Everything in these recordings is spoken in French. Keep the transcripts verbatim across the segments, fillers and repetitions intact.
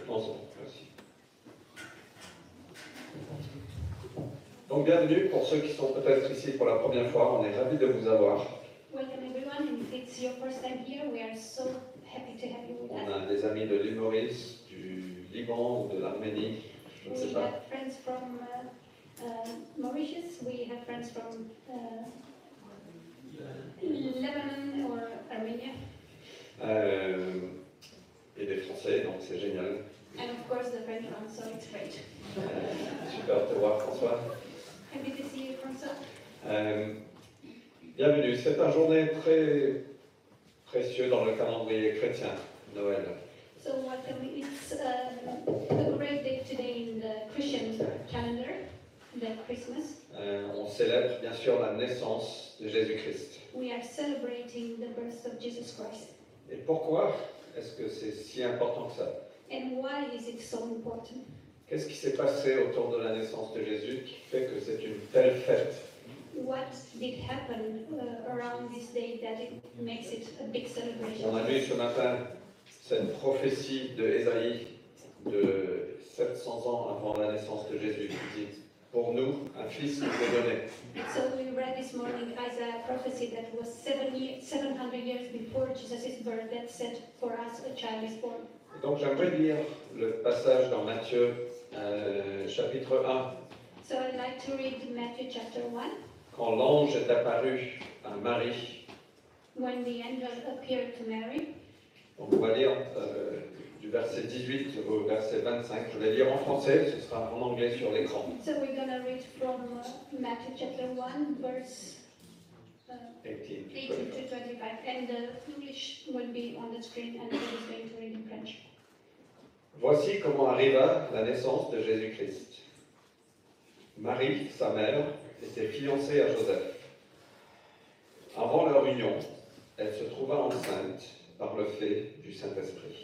Ensemble, merci. Donc bienvenue pour ceux qui sont peut-être ici pour la première fois, on est ravis de vous avoir. Welcome everyone, and if it's your first time here, we are so happy to have you with On us. a des amis de l'île Maurice, du Liban ou de l'Arménie, je ne sais We pas. have friends from uh, uh, Mauritius, we have friends from uh, Lebanon or Armenia, Euh, et des Français, donc c'est génial. and of course the French one, so it's great. Euh, super de te voir François. Happy to see you, François. Euh, bienvenue, c'est un journée très précieux dans le calendrier chrétien, Noël. So welcome, it's um, a great day today in the Christian calendar, the Christmas. Euh, on célèbre bien sûr la naissance de Jésus-Christ. We are celebrating the birth of Jesus Christ. Et pourquoi est-ce que c'est si important que ça? And why is it so important? Qu'est-ce qui s'est passé autour de la naissance de Jésus qui fait que c'est une telle fête? What did happen uh, around this day that it makes it a big celebration? On a vu ce matin cette prophétie de Ésaïe de sept cents ans avant la naissance de Jésus qui dit « Pour nous, un fils nous est donné ». So we read this morning Isaiah prophecy that was seven year, seven hundred years before Jesus' birth that said, for us a child is born. Et donc j'aimerais lire le passage dans Matthieu euh, chapitre un. So I'd like to read Matthew chapter one. Quand l'ange est apparu à Marie, When the angel appeared to Mary. donc on va lire euh, du verset dix-huit au verset vingt-cinq. Je vais lire en français, ce sera en anglais sur l'écran. So we're going to read from uh, Matthew chapter one, verse uh, eighteen to eighteen twenty-five. to twenty-five. And the English will be on the screen and I is going to read in French. Voici comment arriva la naissance de Jésus-Christ. Marie, sa mère, était fiancée à Joseph. Avant leur union, elle se trouva enceinte par le fait du Saint-Esprit.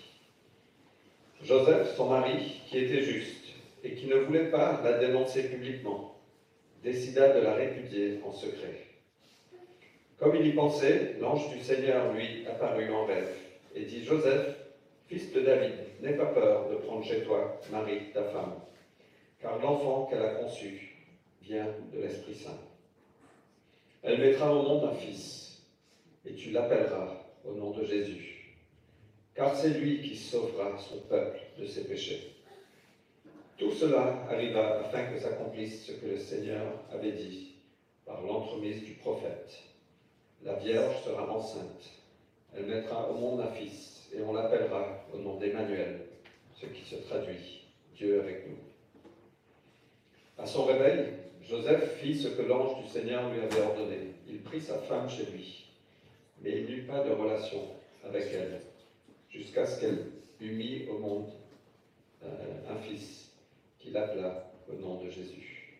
Joseph, son mari, qui était juste et qui ne voulait pas la dénoncer publiquement, décida de la répudier en secret. Comme il y pensait, l'ange du Seigneur lui apparut en rêve et dit « Joseph, fils de David, n'aie pas peur de prendre chez toi Marie, ta femme, car l'enfant qu'elle a conçu vient de l'Esprit Saint. Elle mettra au monde un fils, et tu l'appelleras au nom de Jésus, car c'est lui qui sauvera son peuple de ses péchés. » Tout cela arriva afin que s'accomplisse ce que le Seigneur avait dit par l'entremise du prophète. La Vierge sera enceinte, elle mettra au monde un fils, et on l'appellera au nom d'Emmanuel, ce qui se traduit « Dieu avec nous ». À son réveil, Joseph fit ce que l'ange du Seigneur lui avait ordonné. Il prit sa femme chez lui, mais il n'eut pas de relation avec elle, jusqu'à ce qu'elle eût mis au monde euh, un fils qu'il appela au nom de Jésus.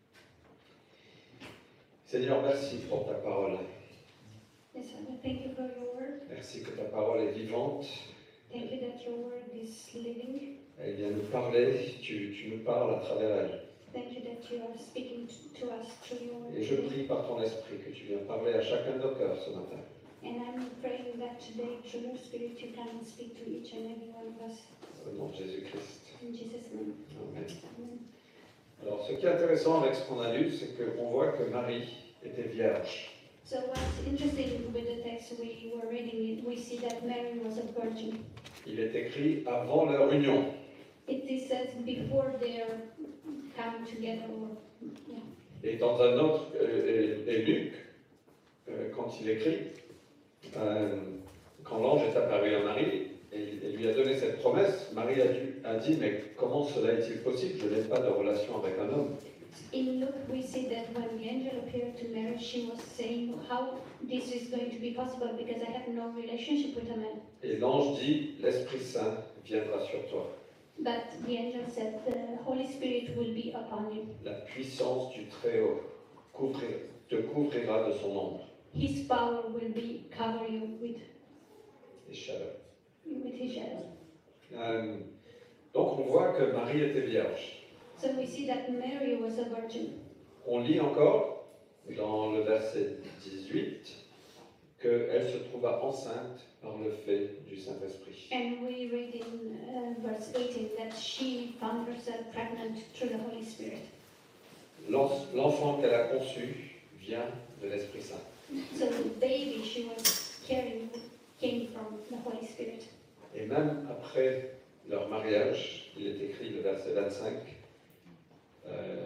Seigneur, merci pour ta parole. Yes, Father, thank you for your word. Merci que ta parole est vivante. Thank you that your word is living. Elle vient nous parler, tu, tu nous parles à travers elle. Thank you that you are speaking to, to us through your word. Et je prie par ton esprit que tu viens parler à chacun de nos cœurs ce matin. And I'm praying that today, through your spirit, you can speak to each and every one of us. Au nom de Jésus-Christ. In Jesus' name. Amen. Amen. Alors, ce qui est intéressant avec ce qu'on a lu, c'est qu'on voit que Marie était vierge. So what's interesting with the text we were reading, it, we see that Mary was a virgin. Il est écrit avant leur union. It is says before their come together. Or, yeah. Et dans un autre, euh, et, et Luc, euh, quand il écrit, euh, quand l'ange est apparu à Marie et, et lui a donné cette promesse, Marie a, dû, a dit, mais comment cela est-il possible? Je n'ai pas de relation avec un homme. In Luke, we see that when the angel appeared to Mary, she was saying, how this is going to be possible because I have no relationship with a man. Et l'ange dit, l'Esprit Saint viendra sur toi. But the angel said, the Holy Spirit will be upon you. La puissance du Très-Haut couvrir, te couvrira de son ombre. His power will be cover you with, Et chaleur. with his shadow. Euh, donc on voit que Marie était vierge. So we see that Mary was a virgin. On lit encore dans le verset dix-huit qu'elle se trouva enceinte par le fait du Saint-Esprit. And we read in uh, verse eighteen, that she found herself pregnant through the Holy Spirit. L'en- L'enfant qu'elle a conçu vient de l'Esprit Saint. So the baby she was carrying came from the Holy Spirit. Et même après leur mariage, il est écrit le verset vingt-cinq, euh,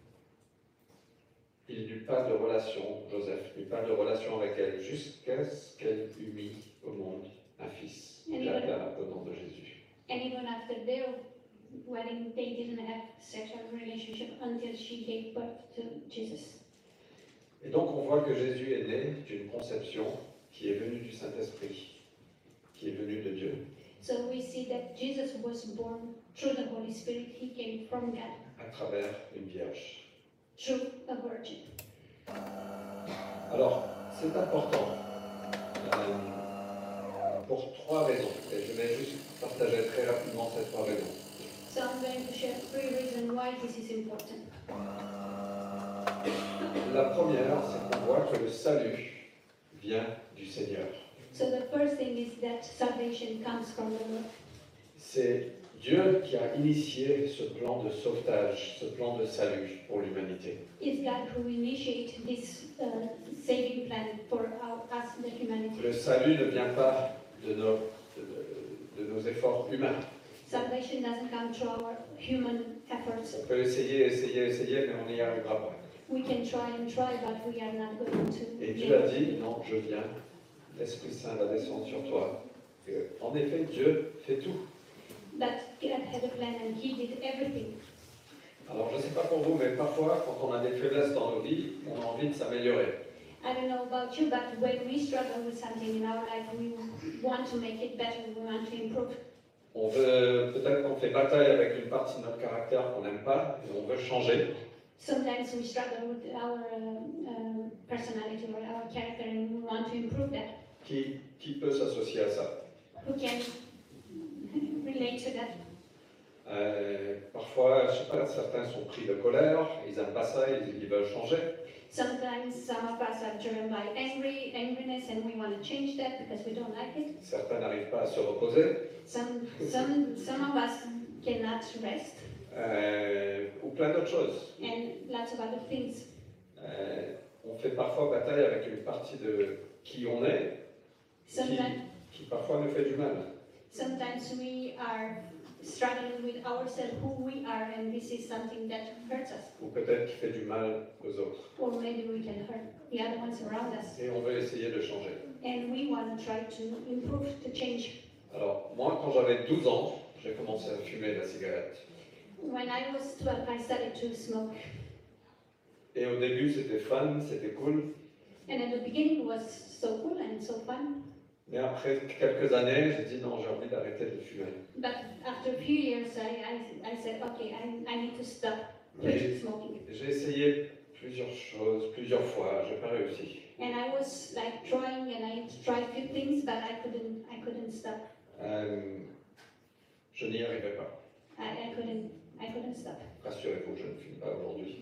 il n'eut pas de relation, Joseph n'eut pas de relation avec elle jusqu'à ce qu'elle eût mis au monde un fils. Il appela au nom de Jésus. And even after their wedding, they didn't have sexual relationship until she gave birth to Jesus. Et donc on voit que Jésus est né d'une conception qui est venue du Saint-Esprit, qui est venue de Dieu, So we see that Jesus was born through the Holy Spirit. He came from God, à travers une vierge. through a virgin. Alors, c'est important euh, pour trois raisons. Et je vais juste partager très rapidement ces trois raisons. So I'm going to share three reasons why this is important. La première, c'est qu'on voit que le salut vient du Seigneur. So the first thing is that salvation comes from the Lord. C'est Dieu qui a initié ce plan de sauvetage, ce plan de salut pour l'humanité. It's God who initiated this uh, saving plan for our, us, the humanity. Le salut ne vient pas de nos, de, de nos efforts humains. Salvation doesn't come through our human efforts. On peut essayer, essayer, essayer, mais on n'y arrivera pas. We can try and try, but we are not going to. Et Dieu a dit, non, je viens, l'Esprit Saint va descendre sur toi. Et, en effet, Dieu fait tout. But God had a plan and He did everything. Alors, je ne sais pas pour vous, mais parfois, quand on a des faiblesses dans nos vies, on a envie de s'améliorer. I don't know about you, but when we struggle with something in our life, we want to make it better, we want to improve. On veut, peut-être qu'on fait bataille avec une partie de notre caractère qu'on n'aime pas, et on veut changer. Sometimes we struggle with our uh, um, personality or our character and we want to improve that. Qui, qui peut s'associer à ça? Who can relate to that? Euh, parfois, je sais pas, certains sont pris de colère, ils n'aiment pas ça, ils, ils veulent changer. Sometimes some of us are driven by angry, angriness and we want to change that because we don't like it. Certains n'arrivent pas à se reposer, Some, some, some of us cannot rest euh, ou plein d'autres choses. and lots of other things. Euh, on fait parfois bataille avec une partie de qui on est, qui, Sometimes, qui parfois nous fait du mal. sometimes we are struggling with ourselves, who we are, and this is something that hurts us. Ou peut-être qui fait du mal aux autres. Or maybe we can hurt the other ones around us. Et on veut essayer de changer. And we want to try to improve, to change. Alors, moi, quand j'avais douze ans, j'ai commencé à fumer la cigarette. When I was twelve, I started to smoke. Et au début, c'était fun, c'était cool. And at the beginning it was so cool and so fun. Mais après quelques années, j'ai dit non, j'ai envie d'arrêter de fumer. But after a few years, I, I, I said, okay, I, I need to stop Mais smoking. j'ai essayé plusieurs choses, plusieurs fois, j'ai pas réussi. And I was like trying and I tried a few things, but I couldn't, I couldn't stop. Euh, je n'y arrivais pas. I, I couldn't, I couldn't stop. Rassurez-vous, je ne fume pas aujourd'hui.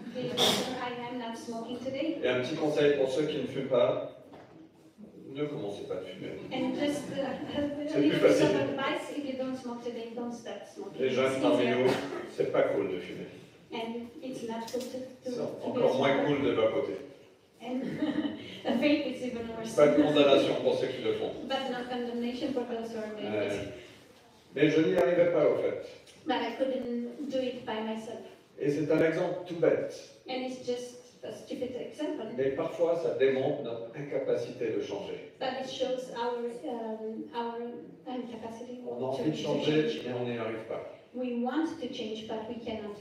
I am not smoking today. Et un petit conseil pour ceux qui ne fument pas, ne commencez pas à fumer. And just uh, a C'est little plus bit facile. of advice: if you don't smoke today, don't start smoking. Les jeunes It's parmi easier. nous, c'est pas cool de fumer. And it's not good to, to, C'est to be a encore moins smoker. cool de vapoter. And a vape is even worse. Pas de condamnation pour ceux qui le font. But no condemnation for those who are doing Euh, it. mais je n'y arrivais pas au fait. But I couldn't do it by myself. Et c'est un exemple tout bête. And it's just a stupid example. Mais parfois, ça démontre notre incapacité de changer. But it shows our um, our incapacity On a to, envie de to changer, change. mais on n'y arrive pas. We want to change, but we cannot.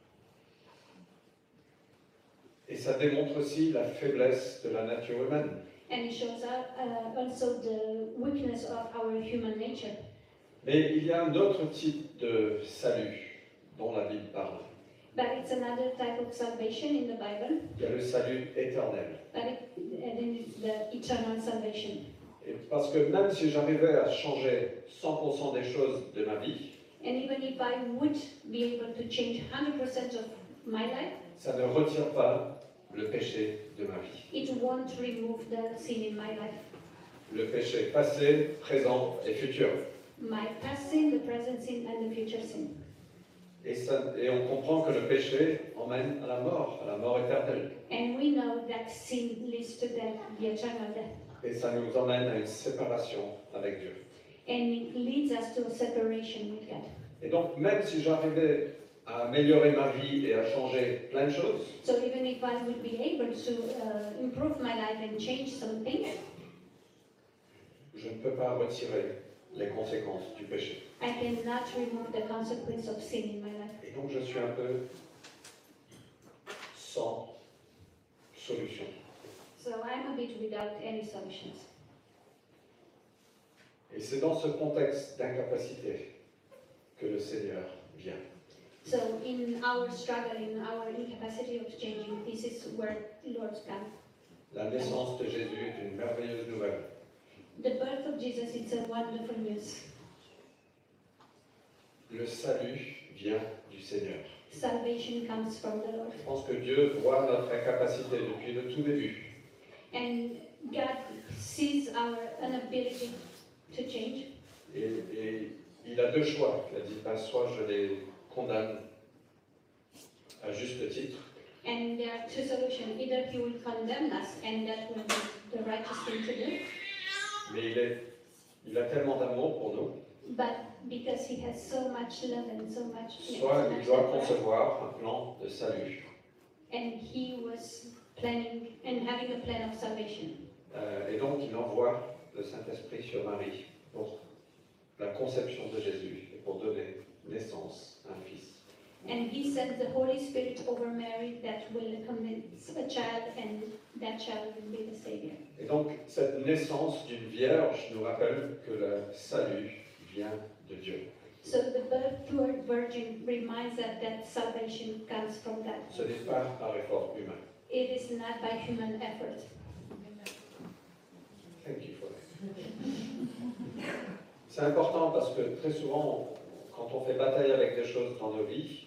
Et ça démontre aussi la faiblesse de la nature humaine. And it shows uh, uh, also the weakness of our human nature. Mais il y a un autre type de salut dont la Bible parle. But it's another type of salvation in the Bible. Il y a le salut éternel. But it, and then it's the eternal salvation. Et parce que même si j'arrivais à changer cent pour cent des choses de ma vie, And even if I would be able to change one hundred percent of my life, ça ne retire pas le péché de ma vie. it won't remove the sin in my life. Le péché passé, présent et futur. My past sin, the present sin and the future sin. Et, ça, et on comprend que le péché emmène à la mort, à la mort éternelle. And we know that sin leads to death, the eternal death. Et ça nous emmène à une séparation avec Dieu. And it leads us to a separation with God. Et donc, même si j'arrivais à améliorer ma vie et à changer plein de choses, So even if I would be able to uh, improve my life and change some things, je ne peux pas retirer les conséquences du péché. I cannot remove the consequence of sin in my life. Et donc, je suis un peu sans solution. So I'm a bit without any solutions. Et c'est dans ce contexte d'incapacité que le Seigneur vient. So in our struggle, in our incapacity of changing, this is where Lord comes. La naissance de Jésus est une merveilleuse nouvelle. The birth of Jesus is a wonderful news. Le salut vient du Seigneur. Salvation comes from the Lord. Je pense que Dieu voit notre incapacité depuis le tout début. And God sees our inability to change. Et, et il a deux choix. Il a dit, ben, soit je les condamne à juste titre, And there are two solutions. Either he will condemn us, and that will be the righteous thing to do. mais il, est, il a tellement d'amour pour nous, But because he has so much love and so much, yeah, soit so il much doit love, concevoir un plan de salut. and he was planning and having a plan of salvation. Euh, et donc il envoie le Saint-Esprit sur Marie pour la conception de Jésus et pour donner naissance à un fils. And he sent the Holy Spirit over Mary that will convince a child, and that child will be the Savior. Et donc cette naissance d'une vierge nous rappelle que le salut vient de Dieu. So the birth to a virgin reminds us that salvation comes from God. Ce n'est pas par effort humain. It is not by human effort. Thank you for that. C'est important parce que très souvent, quand on fait bataille avec des choses dans nos vies,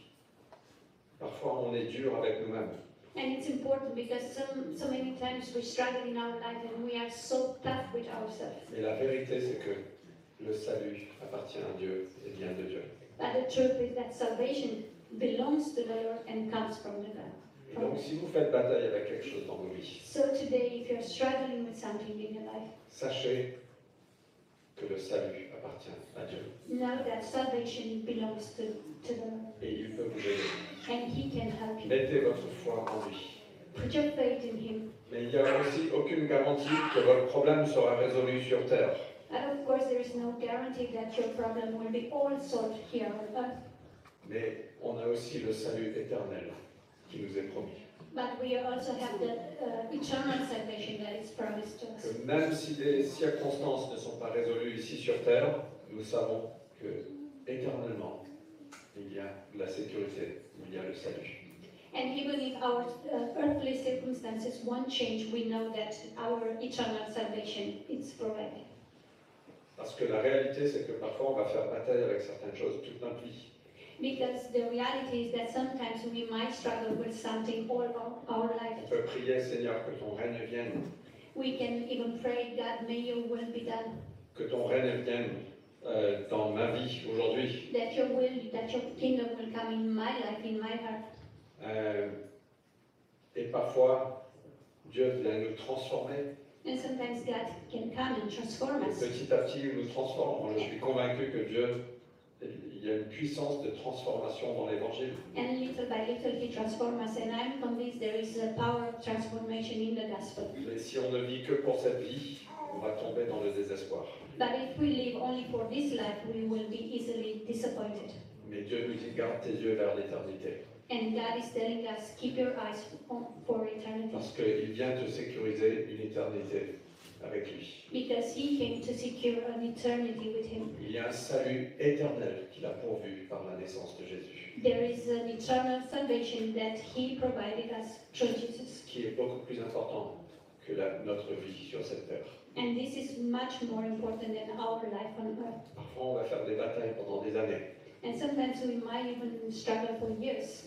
parfois on est dur avec nous-mêmes. And it's important because some, so many times we struggle in our life and we are so tough with ourselves. Et la vérité, c'est que le salut appartient à Dieu et vient de Dieu. But the truth is that salvation belongs to the Lord and comes from the God. Et donc, si vous faites bataille avec quelque chose dans vos vies, So today, if you're struggling with something in your life, sachez que le salut appartient à Dieu. know that salvation belongs to, to the Lord. Et il peut vous aider. And He can help you. Mettez votre foi en lui. Put your faith in Him. Mais il n'y a aussi aucune garantie que votre problème sera résolu sur terre. And of course, there is no guarantee that your problem will be all solved here on earth. Mais on a aussi le salut éternel qui nous est promis. But we also have the uh, eternal salvation that is promised to us. Que même si les circonstances ne sont pas résolues ici sur terre, nous savons que éternellement, il y a de la sécurité, il y a le salut. And even if our uh, earthly circumstances won't change, we know that our eternal salvation is provided. Parce que la réalité, c'est que parfois on va faire bataille avec certaines choses toute notre vie. Because the reality is that sometimes we might struggle with something all our, our On life. peut prier, Seigneur, que ton règne vienne, We can even pray, God, may your will be done. que ton règne vienne euh, dans ma vie aujourd'hui. That your will, that your kingdom will come in my life, in my heart. Euh, et parfois, Dieu vient nous transformer. And sometimes God can come and transform Et us. petit à petit, il nous transforme. Moi, je suis convaincu que Dieu, il y a une puissance de transformation dans l'Évangile. And little by little He transforms us. And I'm convinced there is a power of transformation in the gospel. Mais si on ne vit que pour cette vie, on va tomber dans le désespoir. But if we live only for this life, we will be easily disappointed. Mais Dieu nous dit, garde tes yeux vers l'éternité. And God is telling us, keep your eyes on, for eternity. Parce qu'il vient te sécuriser une éternité avec lui. Because He came to secure an eternity with Him. Il y a un salut éternel qu'il a pourvu par la naissance de Jésus, There is an eternal salvation that He provided us through Jesus. qui est beaucoup plus important que la- notre vie sur cette terre. And this is much more important than our life on earth. Parfois, on va faire des batailles pendant des années, And sometimes we might even struggle for years.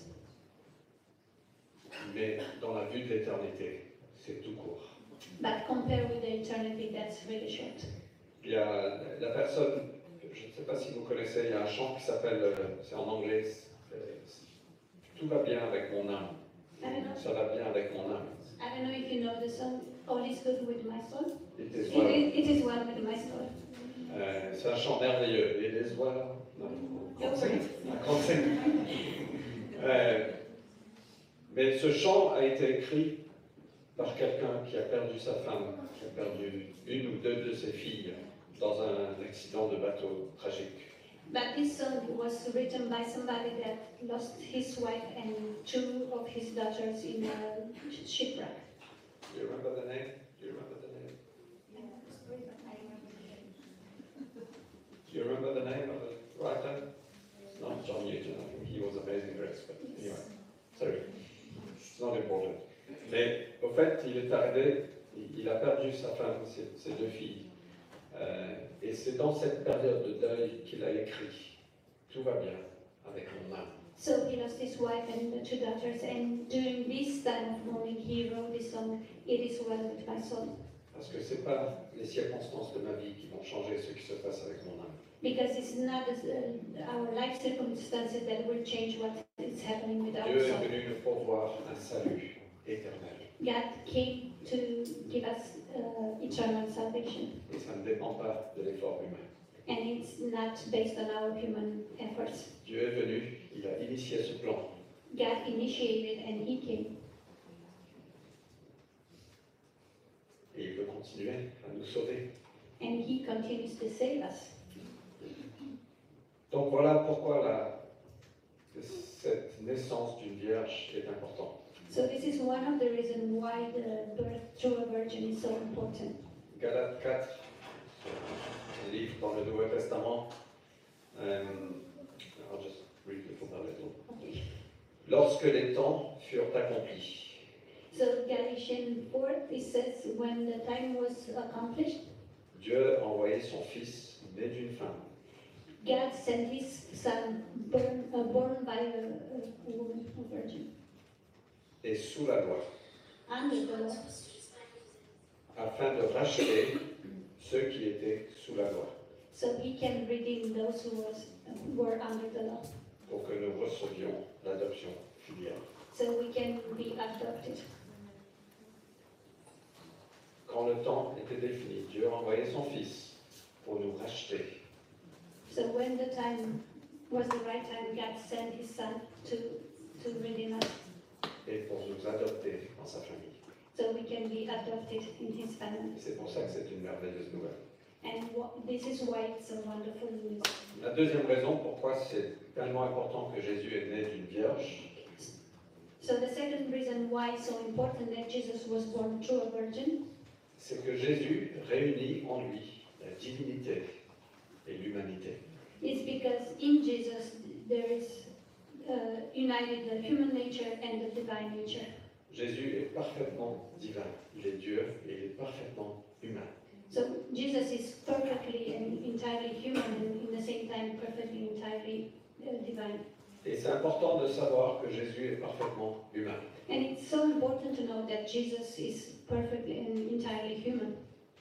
mais dans la vue de l'éternité, c'est tout court. But compared with the eternity, that's really short. Il y a la personne je ne sais pas si vous connaissez, il y a un chant qui s'appelle, euh, c'est en anglais, euh, Tout va bien avec mon âme. I don't know. Ça va bien avec mon âme. I don't know if you know the song All is good with my soul. It is It well. is, it is well with my soul. Euh, c'est un chant merveilleux. It is well. Non, I can't sing. I can't sing. Euh, mais ce chant a été écrit par quelqu'un qui a perdu sa femme, qui a perdu une ou deux de ses filles dans un accident de bateau tragique. But this song was written by somebody that lost his wife and two of his daughters in a shipwreck. Do you remember the name? Do you remember the name? Do you remember the name of the writer? No, John Newton. I think he was Amazing Grace, but anyway, sorry, it's not important. Mais au fait, il est arrivé, il a perdu sa femme, ses, ses deux filles. Euh, et c'est dans cette période de deuil qu'il a écrit « Tout va bien avec mon âme ». So he lost his wife and the two daughters, and during this time of mourning, he wrote this song, It is well with my soul. Parce que ce n'est pas les circonstances de ma vie qui vont changer ce qui se passe avec mon âme. Because it's not uh, our life circumstances that will change what is happening with our Dieu est soul. venu nous pourvoir un salut éternel. God came to give us uh, eternal salvation, Et ça ne dépend pas de l'effort humain. and it's not based on our human efforts. Dieu est venu, il a initié ce plan. God initiated and He came, Et il veut continuer à nous sauver. and He continues to save us. Donc voilà pourquoi la, cette naissance d'une vierge est importante. So this is one of the reasons why the birth through a virgin is so important. Galates quatre, un livre dans le Nouveau Testament. Um, I'll just read it a little. Okay. Lorsque les temps furent accomplis, So Galatians four, it says, when the time was accomplished, Dieu a envoyé son Fils né d'une femme, God sent His Son, born, uh, born by a, a woman, a virgin, et sous la loi, under the law, afin de racheter ceux qui étaient sous la loi, so He can redeem those who was, were under the law, pour que nous recevions l'adoption filiale. so we can be adopted. Quand le temps était défini, Dieu a envoyé son Fils pour nous racheter. So when the time was the right time, God sent His Son to, to redeem us, Et pour nous adopter dans sa famille. so we can be adopted in His family. C'est pour ça que c'est une merveilleuse nouvelle. And what, this is why it's a wonderful news. La deuxième raison pourquoi c'est tellement important que Jésus est né d'une vierge, So the second reason why it's so important that Jesus was born through a virgin, c'est que Jésus réunit en lui la divinité et l'humanité. is because in Jesus there is uh, united the human nature and the divine nature. Jésus est parfaitement divin, il est Dieu et il est parfaitement humain. So Jesus is perfectly and entirely human and in the same time perfectly entirely uh, divine. Et c'est important de savoir que Jésus est parfaitement humain. And it's so important to know that Jesus is perfectly and entirely human.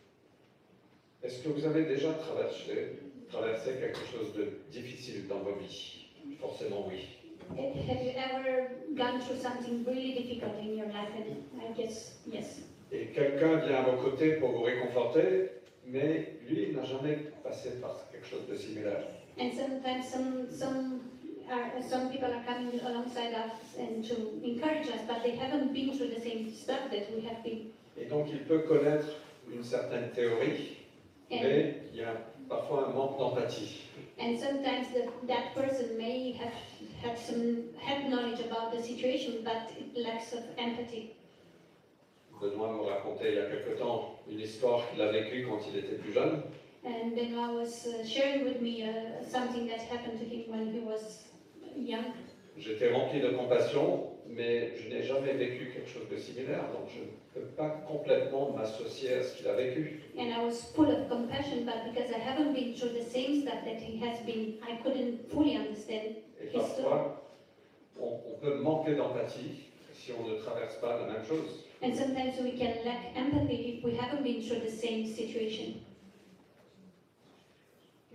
Est-ce que vous avez déjà traversé, traversé quelque chose de difficile dans vos vies? Forcément oui. Have you ever gone through something really difficult in your life? And I guess yes. Et quelqu'un vient à vos côtés pour vous réconforter, mais lui il n'a jamais passé par quelque chose de similaire. And sometimes some some are some people are coming alongside us and to encourage us, but they haven't been through the same stuff that we have been. Et donc il peut connaître une certaine théorie, And, mais il y a parfois un manque d'empathie. and sometimes the, that person may have had some had knowledge about the situation, but it lacks of empathy. Benoît me racontait il y a quelque temps une histoire qu'il a vécue quand il était plus jeune. And Benoit was uh, sharing with me uh, something that happened to him when he was young. J'étais rempli de compassion, mais je n'ai jamais vécu quelque chose de similaire, donc je ne peux pas complètement m'associer à ce qu'il a vécu. And I was full of compassion, but because I haven't been through the same stuff that he has been, I couldn't fully understand Et his story. parfois, on, on peut manquer d'empathie si on ne traverse pas la même chose. And sometimes we can lack empathy if we haven't been through the same situation.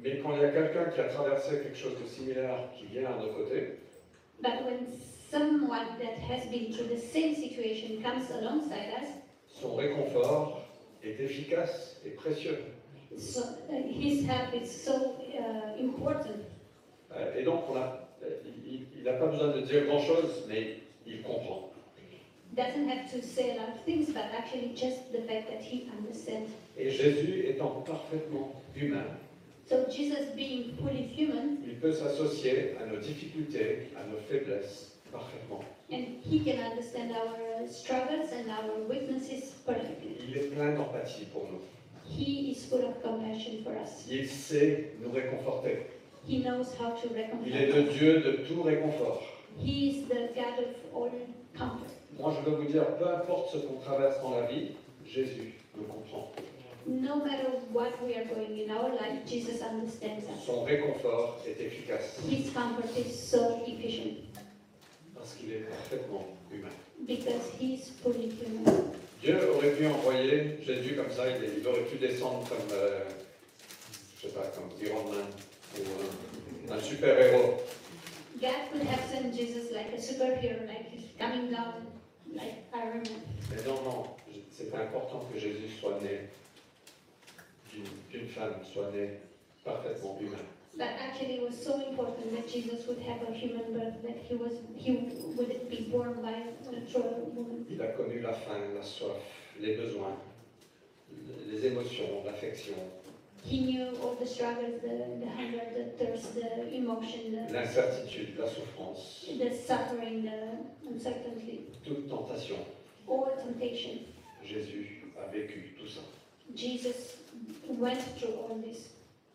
Mais quand il y a quelqu'un qui a traversé quelque chose de similaire qui vient à nos côtés, But when someone that has been through the same situation comes alongside us, son réconfort est efficace et précieux. so uh, his help is so uh, important. Euh, Et donc, on a, il n'a pas besoin de dire grand-chose, mais il comprend. Doesn't have to say a lot of things, but actually just the fact that he understands. Et Jésus étant parfaitement humain, So Jesus, being fully human, il peut s'associer à nos difficultés, à nos faiblesses parfaitement. and he can understand our uh, struggles and our weaknesses perfectly. Il est plein d'empathie pour nous. He is full of compassion for us. Il sait nous réconforter. He knows how to Il est le recompense us. Dieu de tout réconfort. He is the God of all comfort. Moi, je veux vous dire, peu importe ce qu'on traverse dans la vie, Jésus nous comprend. No matter what we are going in our life, Jesus understands us. Son réconfort est efficace His comfort is so efficient parce qu'il est parfaitement humain. because he is fully human. Dieu aurait pu envoyer Jésus comme ça, il, il aurait pu descendre comme, euh, je sais pas, comme Iron Man ou un, un super-héros. God could have sent Jesus like a superhero, like he's coming down like Iron Man. Mais non, non, c'est important que Jésus soit né d'une d'une femme, soit né parfaitement humain. But actually, it was so important that Jesus would have a human birth, that he was he would be born by a true woman. Il a connu la faim, la soif, les besoins, les émotions, l'affection, He knew all the struggles, the, the hunger, the thirst, the emotion, the, l'incertitude, la souffrance, the suffering, the uncertainty, toute tentation. all temptation. Jésus a vécu tout ça. Jesus went through all this.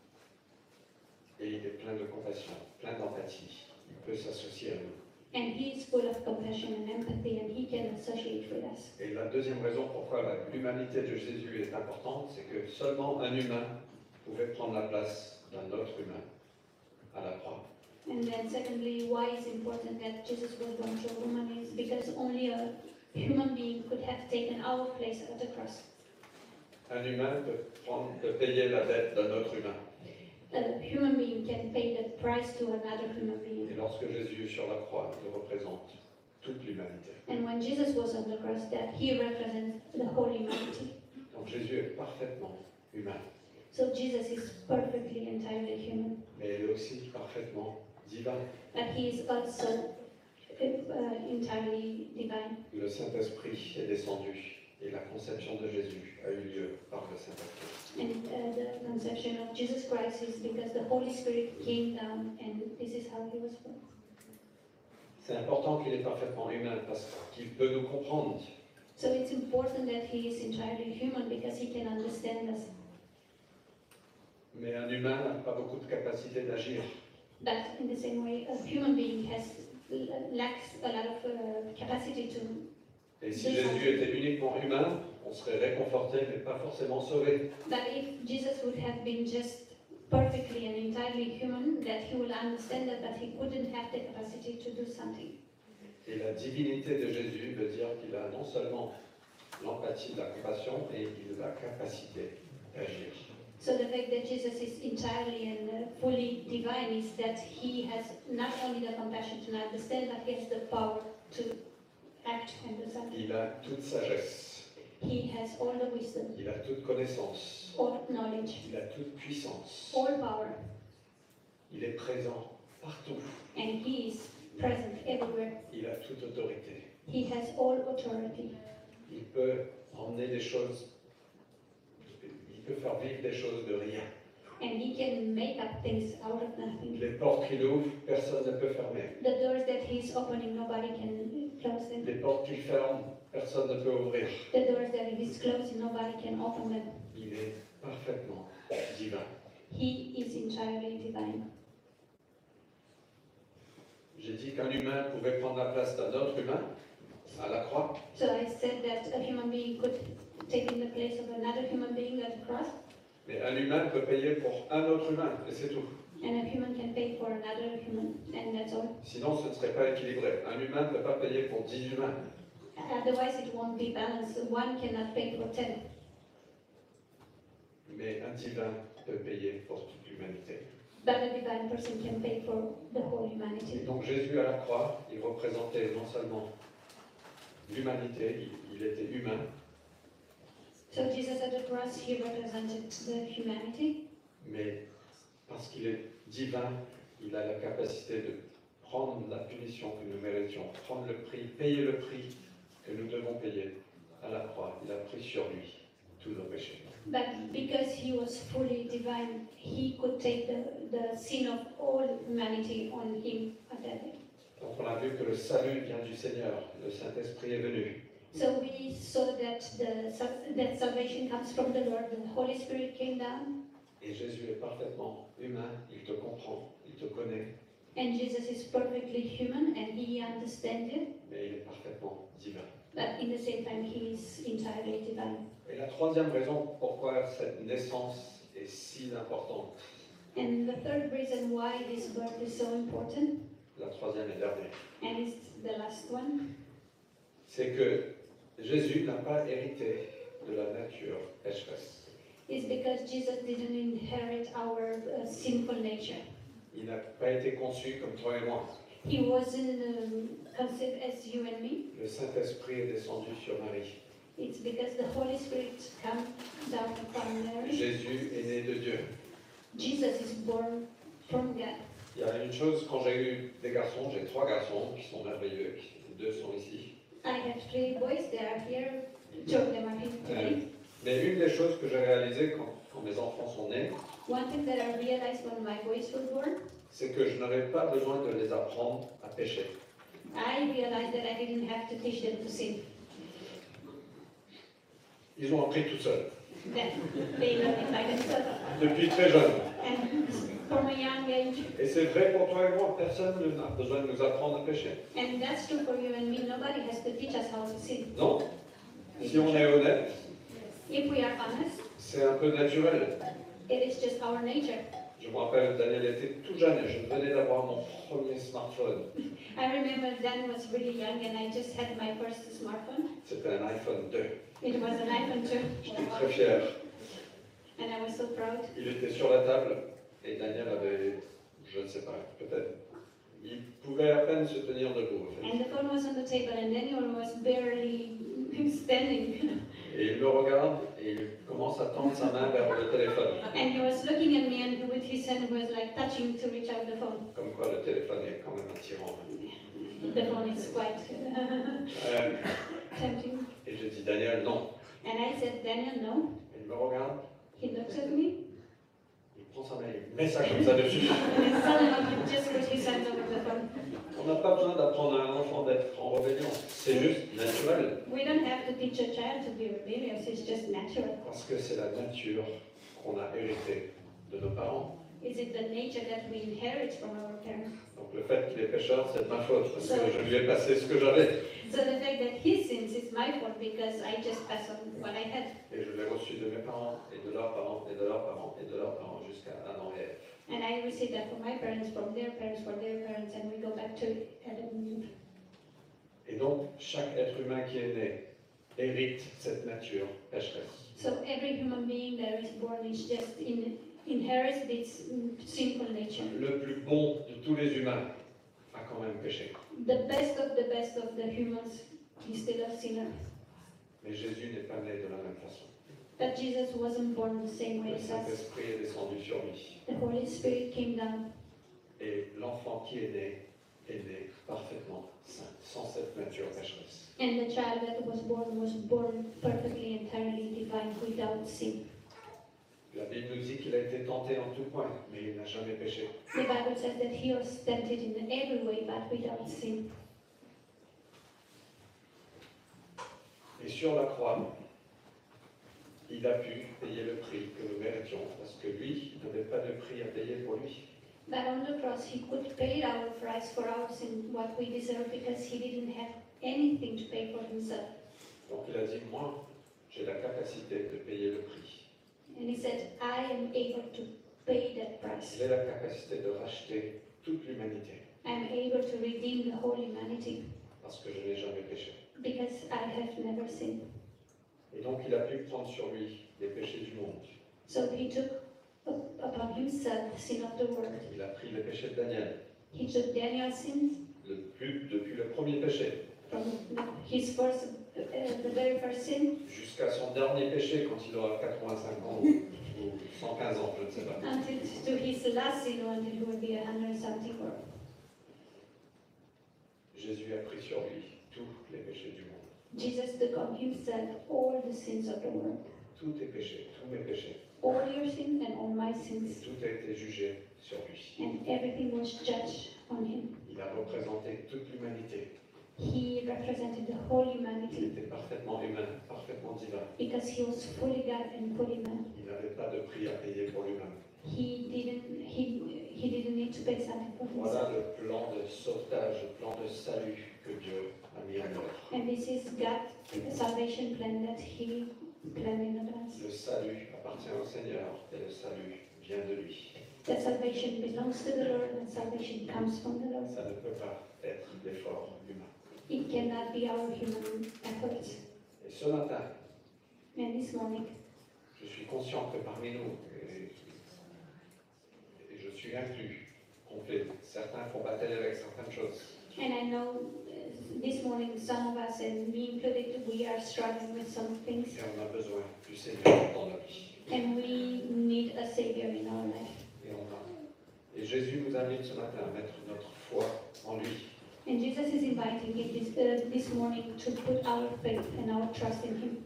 Et il est plein de compassion, plein d'empathie. Il peut s'associer à nous. And he is full of compassion and empathy, and he can associate with us. Et la deuxième raison pourquoi la- l'humanité de Jésus est importante, c'est que seulement un humain pouvait prendre la place d'un autre humain à la croix. And then secondly, why it's important that Jesus was born through a woman is because only a human being could have taken our place at the cross. Un humain peut, prendre, peut payer la dette d'un autre humain. A human being can pay the price to another human being. Et lorsque Jésus sur la croix, il représente toute l'humanité. And when Jesus was on the cross, that he represents the whole humanity. Donc Jésus est parfaitement humain, So Jesus is perfectly, entirely human, mais il est aussi parfaitement divin. but he is also uh, entirely divine. Le Saint-Esprit est descendu et la conception de Jésus a eu lieu par le Saint-Esprit. And uh, the conception of Jesus Christ is because the Holy Spirit came down, and this is how he was born. C'est important qu'il est parfaitement humain parce qu'il peut nous comprendre. So it's important that he is entirely human because he can understand us. Mais un humain n'a pas beaucoup de capacité d'agir. But in the same way, a human being has lacks a lot of uh, capacity to. Et si Jésus était uniquement humain, on serait réconforté mais pas forcément sauvé. But if Jesus would have been just perfectly and entirely human, that he will understand that, but he wouldn't have the capacity to do something. Et la divinité de Jésus veut dire qu'il a non seulement l'empathie, la compassion, mais il a la capacité d'agir. So the fact that Jesus is entirely and uh, fully divine is that he has not only the compassion to understand, but he has the power to act and do something. Il a toute sagesse, He has all the wisdom, il a toute connaissance, all knowledge, il a toute puissance. all power, Il est présent partout. and he is present everywhere. Il a toute autorité. He has all authority. Il peut emmener des choses, il peut faire vivre des choses de rien. And he can make up things out of nothing. Les portes qu'il ouvre, personne ne peut fermer. The doors that he's opening, nobody can close them. Les portes qu'il ferme, personne ne peut ouvrir. The doors that he's closing, nobody can open them. Il est parfaitement divin. He is entirely divine. J'ai dit qu'un humain pouvait prendre la place d'un autre humain à la croix, So I said that a human being could take in the place of another human being at the cross, mais un humain peut payer pour un autre humain, et c'est tout. and a human can pay for another human, and that's all. Sinon, ce ne serait pas équilibré. Un humain ne peut pas payer pour dix humains. Otherwise, it won't be balanced. One cannot pay for ten, Mais un divin peut payer pour toute l'humanité. but a divine person can pay for the whole Et humanity. donc Jésus à la croix, il représentait non seulement l'humanité, il, il était humain, So Jesus at the cross, he represented the humanity, mais parce qu'il est divin, il a la capacité de prendre la punition que nous méritions, prendre le prix, payer le prix que nous devons payer à la croix. Il a pris sur lui tous nos péchés. but because he was fully divine, he could take the, the sin of all humanity on him at that day. Donc on a vu que le salut vient du Seigneur, le Saint-Esprit est venu. So we saw that the that salvation comes from the Lord. The Holy Spirit came down, Et Jésus est parfaitement humain, il te comprend, il te connaît, and Jesus is perfectly human and he understands you, mais il est parfaitement divin. but in the same time he is entirely divine. Et la troisième raison pourquoi cette naissance est si importante, And the third reason why this birth is so important, la troisième et dernière, and it's the last one, c'est que Jésus n'a pas hérité de la nature pécheresse. is because Jesus didn't inherit our uh, sinful nature. Il n'a pas été conçu comme toi et moi. He wasn't um, conceived as you and me. Le Saint-Esprit est descendu sur Marie. It's because the Holy Spirit come down upon Mary. Jésus est né de Dieu. Jesus is born from God. Il y a une chose, quand j'ai eu des garçons, j'ai trois garçons qui sont merveilleux, qui- deux sont ici. I have three boys, they are here, two of them are here today. Mais une des choses que j'ai réalisées quand, quand mes enfants sont nés, One thing that I realized when my boys were born, c'est que je n'avais pas besoin de les apprendre à pécher. I realized that I didn't have to teach them to sin. Ils ont appris tout seuls, That they learn it by themselves. depuis très jeunes. And from a young age, Et c'est vrai pour toi et moi, personne n'a besoin de nous apprendre à pécher. and that's true for you and me, nobody has to teach us how to sin. Non? Si on est honnête, If we are honest, c'est un peu naturel. it is just our nature. Je me rappelle, Daniel était tout jeune et je venais d'avoir mon premier smartphone. I remember Dan was really young and I just had my first smartphone. C'était un iPhone deux. It was an iPhone two, J'étais très fier. and I was so proud. Il était sur la table et Daniel avait, je ne sais pas, peut-être, il pouvait à peine se tenir debout. En fait. And the phone was on the table and Daniel was barely standing. Et il me regarde et il commence à tendre sa main vers le téléphone. And he was looking at me and with his hand was like touching to reach out the phone. Comme quoi le téléphone est quand même attirant. The phone is quite Euh, tempting. et j'ai dit, Daniel, non. And I said, Daniel, no. Il me regarde, He looks at me. il prend sa main et il met ça comme ça dessus. And suddenly he just put his hands over the phone. On n'a pas besoin d'apprendre à un enfant d'être en rébellion. C'est juste naturel. We don't have to teach a child to be rebellious, it's just natural. Parce que c'est la nature qu'on a héritée de nos parents. Is it the nature that we inherit from our parents? Donc le fait qu'il est pécheur, c'est de ma faute, parce que je lui ai passé ce que j'avais. So the fact that he sins is my fault because I just pass on what I had. Et je l'ai reçu de mes parents, et de leurs parents, et de leurs parents, et de leurs parents, jusqu'à Adam et Ève. And I received that from my parents, from their parents, from their parents, and we go back to Adam and Eve. Et donc, chaque être humain qui est né hérite cette nature pécheresse. So every human being that is born is just in, inherits this mm, sinful nature. Le plus bon de tous les humains a quand même péché. The best of the best of the humans is still a sinner. Mais Jésus n'est pas né de la même façon. But Jesus wasn't born the same way Le as us. Saint-Esprit est descendu sur lui. The Holy Spirit came down, Et l'enfant qui est né est né parfaitement saint, sans cette nature pécheresse. and the child that was born was born perfectly, entirely divine, without sin. La Bible nous dit qu'il a été tenté en tout point, mais il n'a jamais péché. The Bible says that he was tempted in every way, but without sin. Et sur la croix, il a pu payer le prix que nous méritions, parce que lui, il n'avait pas de prix à payer pour lui. But on the cross, he could pay our price for our sin, what we deserve, because he didn't have anything to pay for himself. Donc il a dit, moi, j'ai la capacité de payer le prix. And he said, I am able to pay that price. J'ai la capacité de racheter toute l'humanité, I am able to redeem the whole humanity, parce que je n'ai jamais péché. because I have never sinned. Et donc il a pu prendre sur lui les péchés du monde. So he took up- upon himself the sin of the world. Il a pris le péché de Daniel, He took Daniel's sins le plus, depuis le premier péché, from the, his first, uh, the very first sin, jusqu'à son dernier péché quand il aura quatre-vingt-cinq ans ou, ou cent quinze ans, je ne sais pas. until to his last sin, until he will be a hundred something or. Jésus a pris sur lui tous les péchés du monde. Jesus took on himself all the sins of the world, Tous tes péchés, tous mes péchés. all your sins and all my Et sins, tout a été jugé sur lui. and everything was judged on him. Il a représenté toute l'humanité. He represented the whole Il humanity était parfaitement humain, parfaitement divin. because he was fully God and fully man. Il n'avait pas de prix à payer pour lui-même. He didn't he he didn't need to pay something for Voilà himself. le plan de sauvetage, le plan de salut que Dieu a mis en œuvre. And this is God's salvation plan that he planned in advance. Le salut appartient au Seigneur et le salut vient de lui. That salvation belongs to the Lord and salvation comes from the Lord. Ça ne peut pas être l'effort humain. It cannot be our human efforts. Et ce matin, And this morning, je suis conscient que parmi nous, et, et je suis inclus, complet, certains font bataille avec certaines choses. and I know uh, this morning some of us, and me included, we are struggling with some things, Et on a besoin du Seigneur dans notre vie. and we need a Savior in our life. Et, on a- et Jésus nous invite ce matin à mettre notre foi en lui. And Jesus is inviting it this, uh, this morning to put our faith and our trust in Him.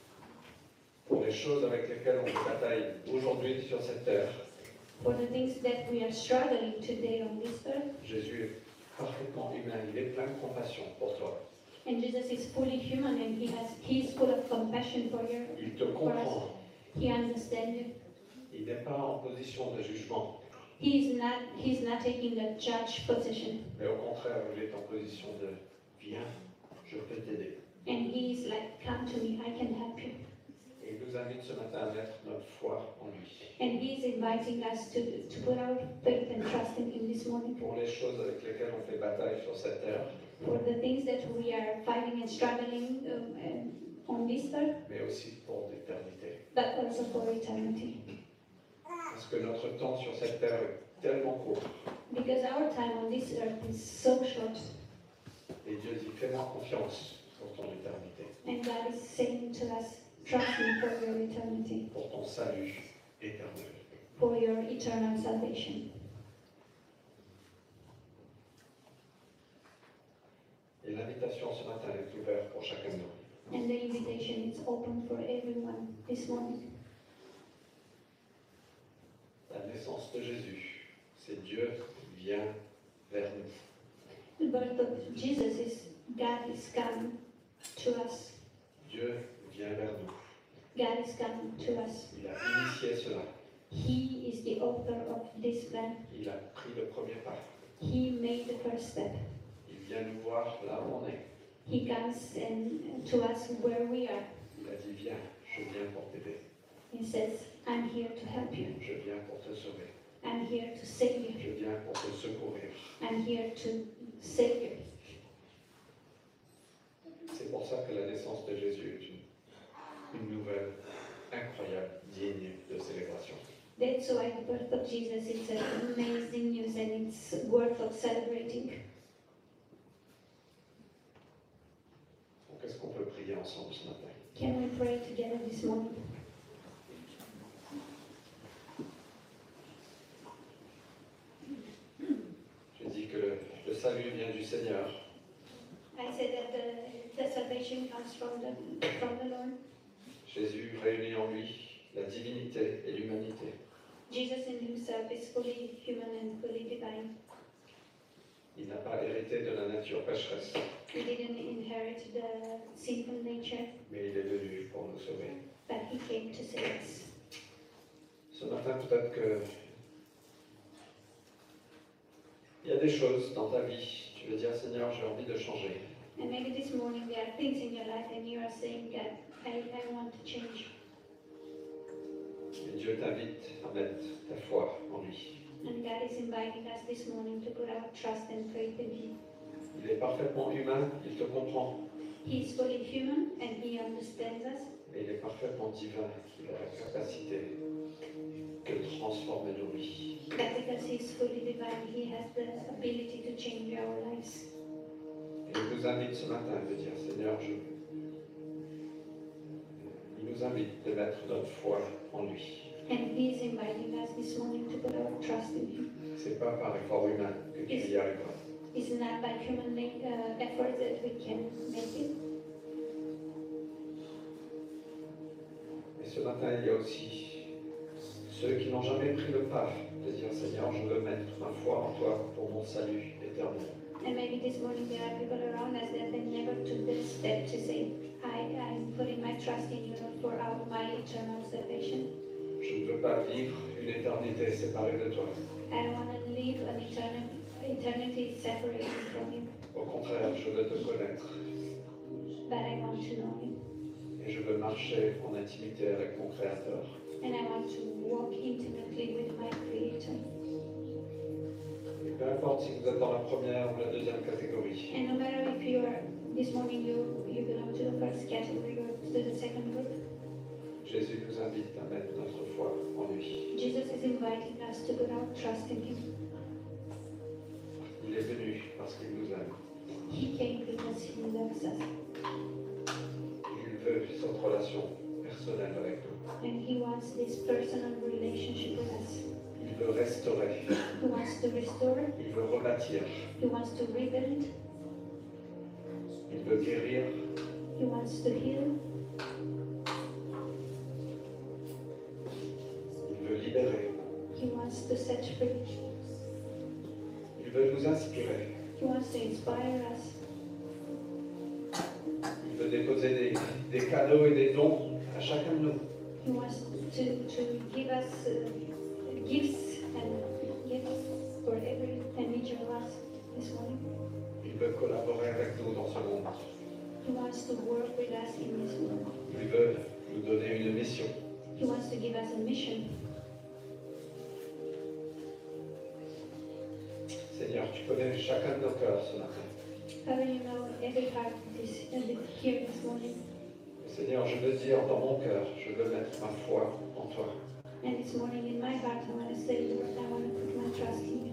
Pour les choses avec lesquelles on fait bataille aujourd'hui sur cette terre, For the things that we are struggling today on this earth, Jésus est parfaitement humain, il est plein de compassion pour toi. and Jesus is fully human and He has He is full of compassion for you. Il te comprend, He understands you. il n'est pas en position de jugement, He is not He's not taking the judge position, mais au contraire, il est en position de viens, je peux t'aider. and He is like, come to me, I can help you. Et il nous invite ce matin à mettre notre foi en lui. And He is inviting us to to put our faith and trust in Him this morning Pour les choses avec lesquelles on fait bataille sur cette terre, for the things that we are fighting and struggling um, and on this earth, mais aussi pour l'éternité. but also for eternity. Parce que notre temps sur cette terre est tellement court. Because our time on this earth is so short, Et Dieu dit, fais-moi confiance pour ton éternité, and God is saying to us, trust me for your eternity, pour ton salut éternel. for your eternal salvation. Et l'invitation ce matin est ouverte pour chacun de nous. And the invitation is open for everyone this morning. La naissance de Jésus, c'est Dieu qui vient vers nous. The birth of Jesus is God is coming to us. Dieu vient vers nous. God is coming to us. Il a initié cela. He is the author of this plan. Il a pris le premier pas. He made the first step. Il vient nous voir là où on est. He comes and to us where we are. Il a dit, viens, je viens pour t'aider. He says, I'm here to help you. Je viens pour te sauver. I'm here to save you. Je viens pour te secourir. I'm here to save you. C'est pour ça que la naissance de Jésus est une, une nouvelle incroyable, digne de célébration. That's why the birth of Jesus is an amazing news and it's worth of celebrating. Donc, est-ce qu'on peut prier ensemble ce matin? Can we pray together this morning? Je dis que le, le salut vient du Seigneur. I said that the, the salvation comes from the, from the Lord. Jésus réunit en lui la divinité et l'humanité. Jesus in himself is fully human and fully divine. Il n'a pas hérité de la nature pécheresse, He didn't inherit the sinful nature, mais il est venu pour nous sauver. but he came to save us. Ce matin, peut-être que il y a des choses dans ta vie, tu veux dire, Seigneur, j'ai envie de changer. And maybe this morning there are things in your life and you are saying, God, I, I want to change. Et Dieu t'invite à mettre ta foi en lui. And God is inviting us this morning to put our trust and faith in Him. Il est parfaitement humain, il te comprend, He is fully human and He understands us. mais il est parfaitement divin, il a la capacité que de transformer nos vies. That because He is fully divine, He has the ability to change our lives. Et il nous invite ce matin de dire, Seigneur, je... il nous invite de mettre notre foi en lui. And He is inviting us this morning to put our trust in Him. C'est pas par effort humain que tu y arriveras. It's not by human uh, effort that we can make it. Et ce matin, il y a aussi ceux qui n'ont jamais pris le pas de dire, Seigneur, je veux mettre ma foi en toi pour mon salut éternel. And maybe this morning there are people around us that they never took the step to say, I am putting my trust in you for our, my eternal salvation. Je ne veux pas vivre une éternité séparée de toi. I don't want to live an eternity, eternity separated from you, Au contraire, je veux te connaître but I want to know Him. et je veux marcher en intimité avec mon Créateur. And I want to walk intimately with my Creator. Et peu importe si vous êtes dans la première ou la deuxième catégorie, And no matter if you are, this morning you, you belong to the first category or to the second group, Jésus nous invite à mettre notre foi en lui. Jesus is inviting us to put our trust in Him. Il est venu parce qu'il nous aime. He came because He loves us. Il veut cette relation personnelle avec nous. And He wants this personal relationship with us. Il veut restaurer. He wants to restore, Il veut rebâtir. He wants to rebuild, Il veut guérir. He wants to heal, Il veut libérer. He wants to set free, Il veut nous inspirer. He wants to inspire us. Il veut déposer des, des cadeaux et des dons à chacun de nous. He wants to, to give us uh, gifts and gifts for every and each of us this morning. Il veut collaborer avec nous dans ce monde. He wants to work with us in this world. Il veut nous donner une mission. He wants to give us a mission. Seigneur, tu connais chacun de nos cœurs ce matin. Father, you know every heart is here this morning. Seigneur, je veux dire dans mon cœur, je veux mettre ma foi en toi. And this morning in my heart, I want to say, Lord, I want to put my trust in you.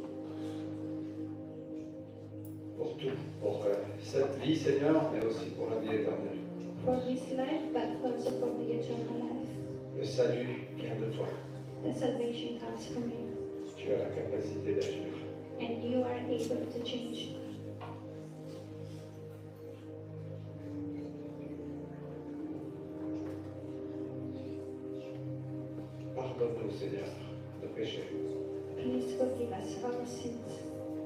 Pour tout, pour euh, cette vie, Seigneur, mais aussi pour la vie éternelle. For this life, but also for the eternal life. Le salut vient de toi. The salvation comes from you. Tu as la capacité d'agir. And you are able to change. Pardonne-nous, Seigneur, nos péchés. Please forgive us our sins.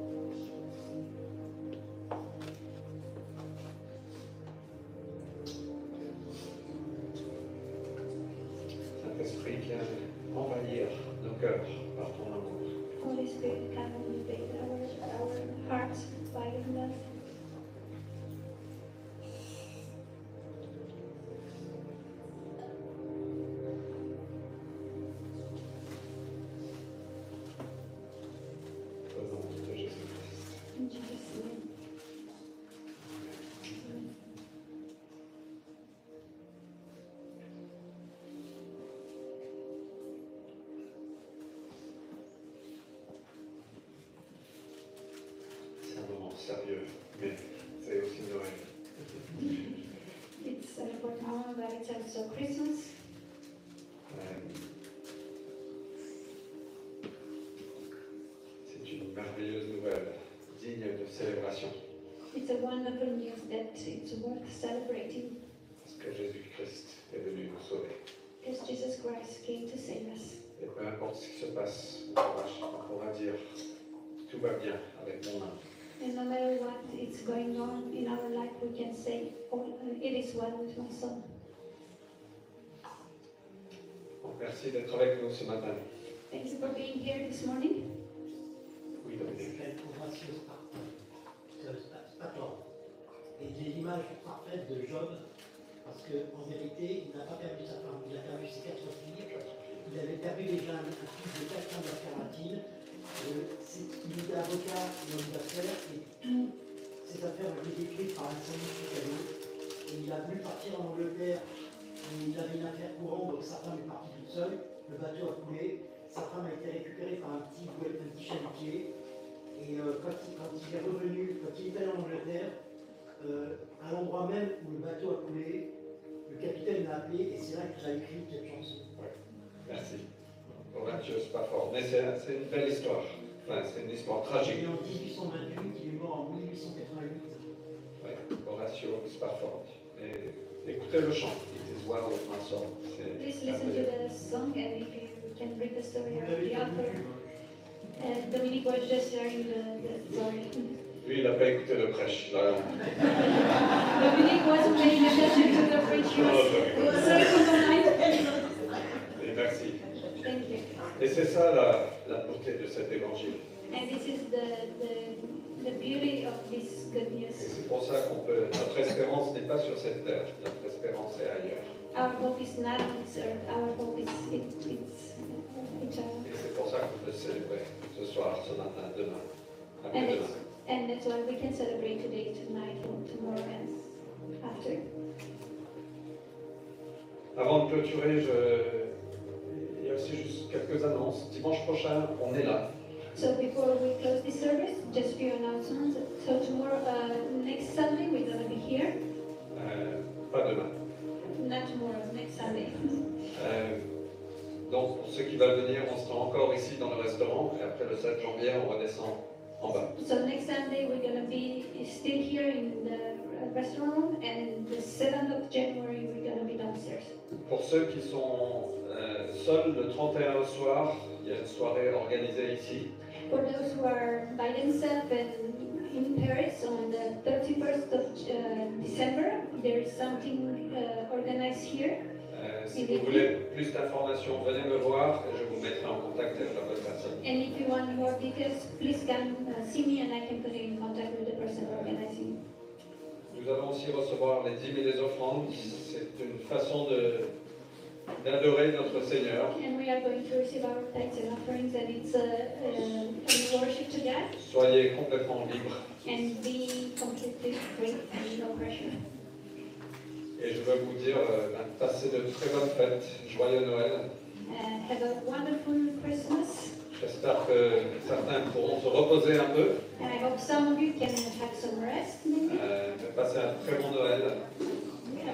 Saint-Esprit, viens envahir nos cœurs par ton amour. Holy Spirit, come and invade our, our hearts by your love. Au nom de Jésus-Christ. In Jesus' name. C'est un moment sérieux, mais c'est aussi Noël. It's an important moment, but it's also Christmas. Euh, C'est une merveilleuse nouvelle, digne de célébration, It's a wonderful news that it's worth celebrating parce que Jésus-Christ est venu nous sauver. because Jesus Christ came to save us. Et peu importe ce qui se passe, on pourra, on pourra dire tout va bien avec mon âme. And no matter what is going on in our life, we can say, oh, it is well with my soul. Donc, merci d'être avec nous ce matin. Thank you for being here this morning. Oui, Dominique. Quelle gracieuse Spartan. Et il est l'image parfaite de Job, parce qu'en vérité, il n'a pas perdu sa femme, il a perdu ses quatre filles. Il avait perdu déjà un, un fils de quatre ans d'affaires. Euh, il était avocat dans les affaires et toutes ses affaires ont été détruites par un incendie Chicago. Et il a voulu partir en Angleterre, et il avait une affaire courante, donc sa femme est partie toute seule. le bateau a coulé, sa femme a été récupérée par un petit, un petit chalutier, et euh, quand, il, quand il est revenu, quand il est allé en Angleterre, euh, à l'endroit même où le bateau a coulé, le capitaine l'a appelé, et c'est là qu'il a écrit cette chanson. Ouais. Merci. Horatio Spafford. Mais c'est c'est une belle histoire. Enfin, c'est une histoire tragique. Il est en dix-huit cent vingt-huit, il est mort en mille huit cent quatre-vingt-huit. Ouais, Horatio Spafford. Et écoutez le chant. It is well with my soul. C'est Please listen to the song, and if you can read the story Vous of l'avez the pas author. vu, Uh, Dominique was just sharing the, the story. Lui, il n'a pas écouté le prêche. Là, Dominique wasn't paying attention to the preach. He was circling the night. et merci. Thank you. Et c'est ça la, la beauté de cet évangile. And this is the, the, the beauty of this good Et news. c'est pour ça qu'on peut. Notre espérance n'est pas sur cette terre. Notre espérance est ailleurs. Our hope is not on this earth, our hope is it, it's eternal. Et c'est pour ça qu'on peut célébrer ce soir, ce matin, demain, And, après-demain. it's, and that's why we can celebrate today, tonight, and tomorrow, and after. Avant de clôturer, je... il y a aussi juste quelques annonces. Dimanche prochain, on est là. So before we close this service, just a few announcements. So tomorrow, uh, next Sunday, we're going to be here. Euh, pas demain. Not tomorrow, next Sunday. Euh, donc, pour ceux qui veulent venir, on sera encore ici dans le restaurant. Et après le sept janvier, on redescend en bas. So next Sunday, we're going to be still here in the restaurant room, and the seventh of January, we're going to be downstairs. Pour ceux qui sont euh, seuls, le trente et un au soir, il y a une soirée organisée ici. For those who are by themselves and in Paris on the thirty-first of uh, December, there is something uh, organized here. Euh, si vous voulez plus d'informations, venez me voir et je vous mettrai en contact avec la bonne personne. And if you want more details, please come uh, see me and I can put you in contact with the person organizing. Nous allons aussi recevoir les dîmes et les offrandes. C'est une façon de d'adorer notre Seigneur. And we are going to receive our tithes and offerings, and it's a, a, a worship to God. Soyez complètement libres. And be completely free and no pressure. Et je veux vous dire, euh, ben, passez de très bonnes fêtes, joyeux Noël. Uh, have a wonderful Christmas. J'espère que certains pourront se reposer un peu. And I hope some of you can have some rest, maybe. Euh, mais passez un très bon Noël.